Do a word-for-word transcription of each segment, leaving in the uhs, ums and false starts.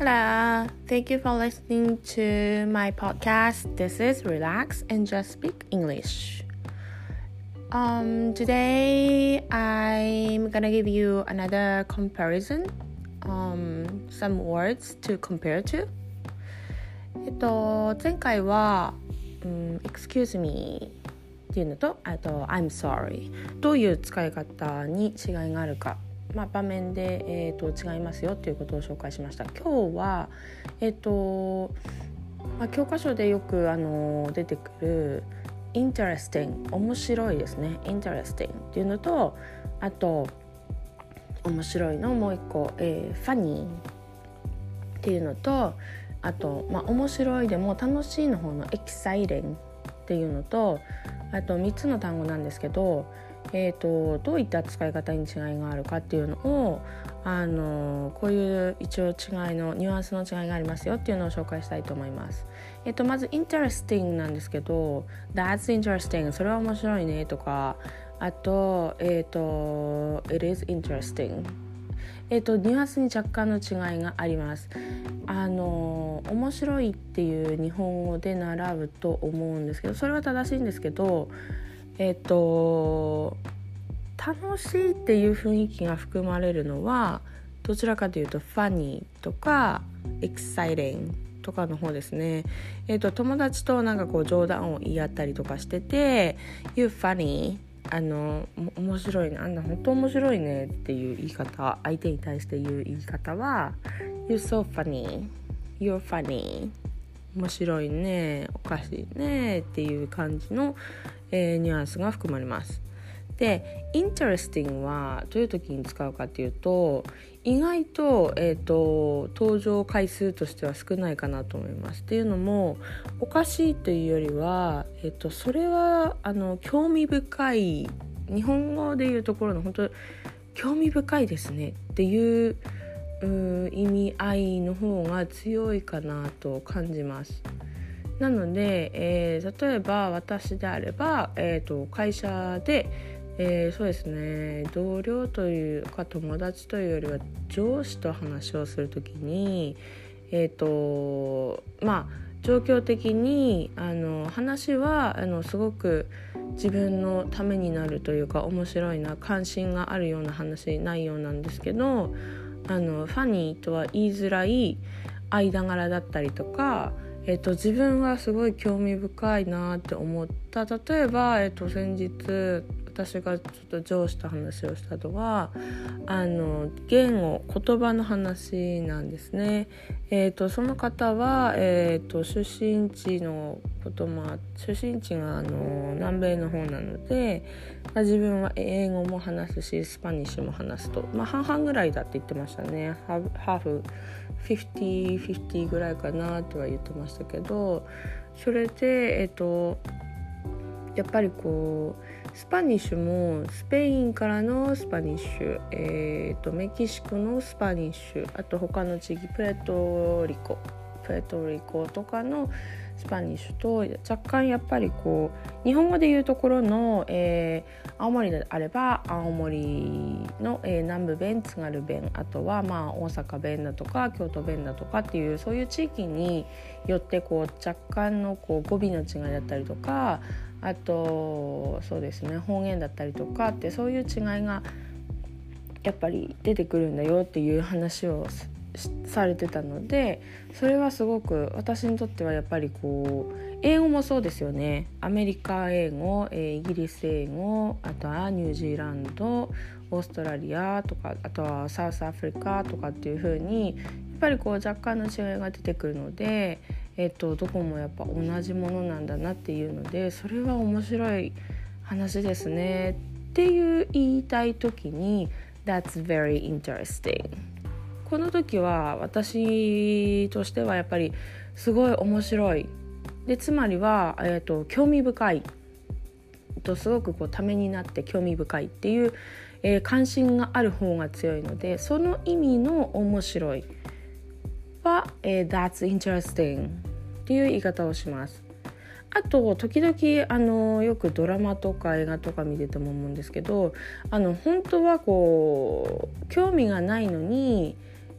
Hello, thank you for listening to my podcast. This is Relax and Just Speak English. Um, today I'm gonna give you another comparison, um, some words to compare to. えっと前回は、うん、excuse me っていうのと、あと I'm sorry どういう使い方に違いがあるか。まあ、場面で、えー、と違いますよということを紹介しました。今日は、えーとまあ、教科書でよく、あの出てくる interesting 面白いですね interesting っていうのと、あと面白いのもう一個、えー、funny っていうのと、あと、まあ、面白いでも楽しいの方の exciting っていうのと、あとみっつの単語なんですけど、えーと、どういった使い方に違いがあるかっていうのを、あのこういう一応違いのニュアンスの違いがありますよっていうのを紹介したいと思います。えーと、まず interesting なんですけど That's interesting それは面白いねとか、あと,、えーと It is interesting、えーと、ニュアンスに若干の違いがあります。あの面白いっていう日本語で習うと思うんですけど、それは正しいんですけど、えっと楽しいっていう雰囲気が含まれるのはどちらかというと funny とか exciting とかの方ですね。えっと友達となんかこう冗談を言い合ったりとかしてて You funny あの面白いね、あんな本当面白いねっていう言い方、相手に対して言う言い方は You're so funny You're funny 面白いね、おかしいねっていう感じのえー、ニュアンスが含まれます。で interesting はどういう時に使うかっていうと、意外と、えーと、登場回数としては少ないかなと思います。っていうのもおかしいというよりは、えーと、それはあの興味深い、日本語でいうところの本当興味深いですねっていう、うー意味合いの方が強いかなと感じます。なので、えー、例えば私であれば、えーと、会社で、えー、そうですね、同僚というか友達というよりは上司と話をするときに、えーとまあ、状況的にあの話はあのすごく自分のためになるというか面白いな、関心があるような話内容なんですけど、あのファニーとは言いづらい間柄だったりとか、えっと、自分はすごい興味深いなって思った。例えば、えっと、先日私がちょっと上司と話をしたのはあの言語言葉の話なんですね。えっと、その方は、えっと、出身地のことも出身地があの南米の方なので、まあ、自分は英語も話すしスパニッシュも話すと、まあ、半々ぐらいだって言ってましたね。ハーフフィフティーフィフティーぐらいかなとは言ってましたけど、それで、えっと、やっぱりこうスパニッシュもスペインからのスパニッシュ、えー、とメキシコのスパニッシュ、あと他の地域プエトリコプエトリコとかのスパニッシュと若干やっぱりこう日本語でいうところの、えー、青森であれば青森の、えー、南部弁、津軽弁、あとはまあ大阪弁だとか京都弁だとかっていうそういう地域によってこう若干のこう語尾の違いだったりとか、あとそうですね方言だったりとかってそういう違いがやっぱり出てくるんだよっていう話をされてたので、それはすごく私にとってはやっぱりこう英語もそうですよね。アメリカ英語、えー、イギリス英語、あとはニュージーランド、オーストラリアとか、あとはサウスアフリカとかっていう風にやっぱりこう若干の違いが出てくるので、えっと、どこもやっぱ同じものなんだなっていうので、それは面白い話ですねっていう言いたい時に That's very interesting。この時は私としてはやっぱりすごい面白いで、つまりは、えーと、興味深いとすごくこうためになって興味深いっていう、えー、関心がある方が強いので、その意味の面白いは、えー、That's interesting っていう言い方をします。あと時々あのよくドラマとか映画とか見てても思うんですけど、あの本当はこう興味がないのに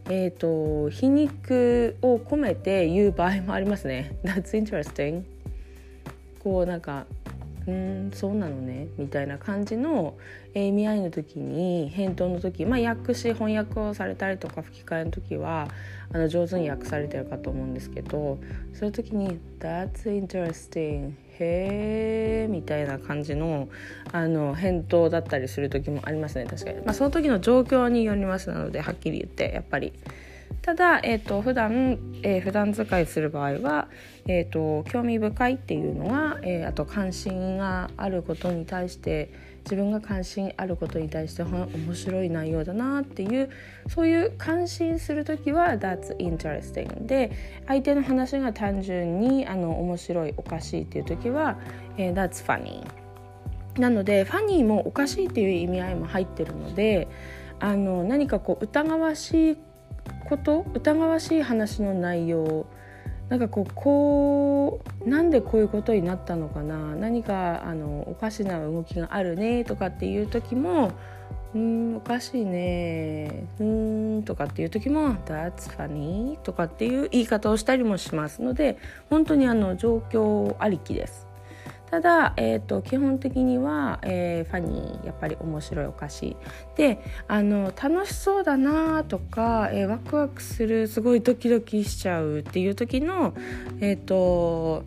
えーと、皮肉を込めて言う場合もありますね。That's interesting。こうなんかうーんそうなのねみたいな感じの意味合いの時に、返答の時、まあ、訳詞翻訳をされたりとか吹き替えの時はあの上手に訳されてるかと思うんですけど、そういう時に That's interesting へーみたいな感じのあの返答だったりする時もありますね。確かに、まあ、その時の状況によりますので、はっきり言ってやっぱり。ただ、えーと、普段、えー、普段使いする場合は、えーと、興味深いっていうのは、えー、あと関心があることに対して、自分が関心あることに対して面白い内容だなっていう、そういう感心するときは That's interesting で、相手の話が単純にあの面白いおかしいっていうときは、えー、That's funny なので、ファニーもおかしいっていう意味合いも入ってるので、あの何かこう疑わしいこと疑わしい話の内容、なんかこうこうなんでこういうことになったのかな、何かあのおかしな動きがあるねとかっていう時も、うーんおかしいねうーんとかっていう時も That's funny とかっていう言い方をしたりもしますので、本当にあの状況ありきです。ただ、えーと、基本的には、えー、ファニーやっぱり面白いおかしいで、あの楽しそうだなとか、えー、ワクワクする、すごいドキドキしちゃうっていう時の、えーと、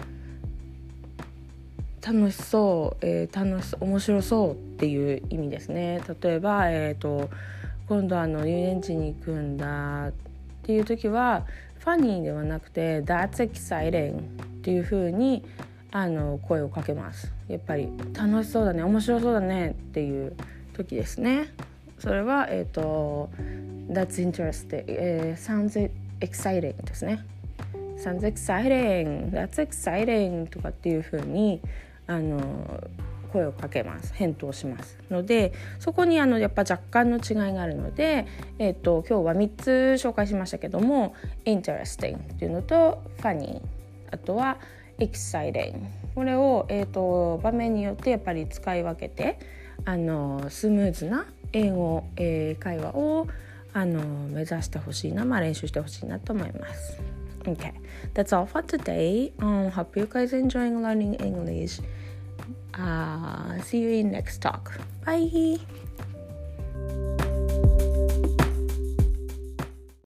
楽しそう、えー、楽し面白そうっていう意味ですね。例えば、えーと、今度あの遊園地に行くんだっていう時はファニーではなくて That's exciting っていう風にあの声をかけます。やっぱり楽しそうだね、面白そうだねっていう時ですね。それは、えーと、That's interesting、えー、sounds exciting ですね。sounds exciting That's exciting とかっていう風にあの声をかけます、返答しますので、そこにあのやっぱ若干の違いがあるので、えーと、今日はみっつ紹介しましたけども、 interesting っていうのと funny、 あとはexciting、 これを、えーと、場面によってやっぱり使い分けて、あのスムーズな英語、えー、会話をあの目指してほしいな、まあ、練習してほしいなと思います。 Okay, that's all for today. Um, hope you guys enjoying learning English. Uh, see you in next talk. Bye.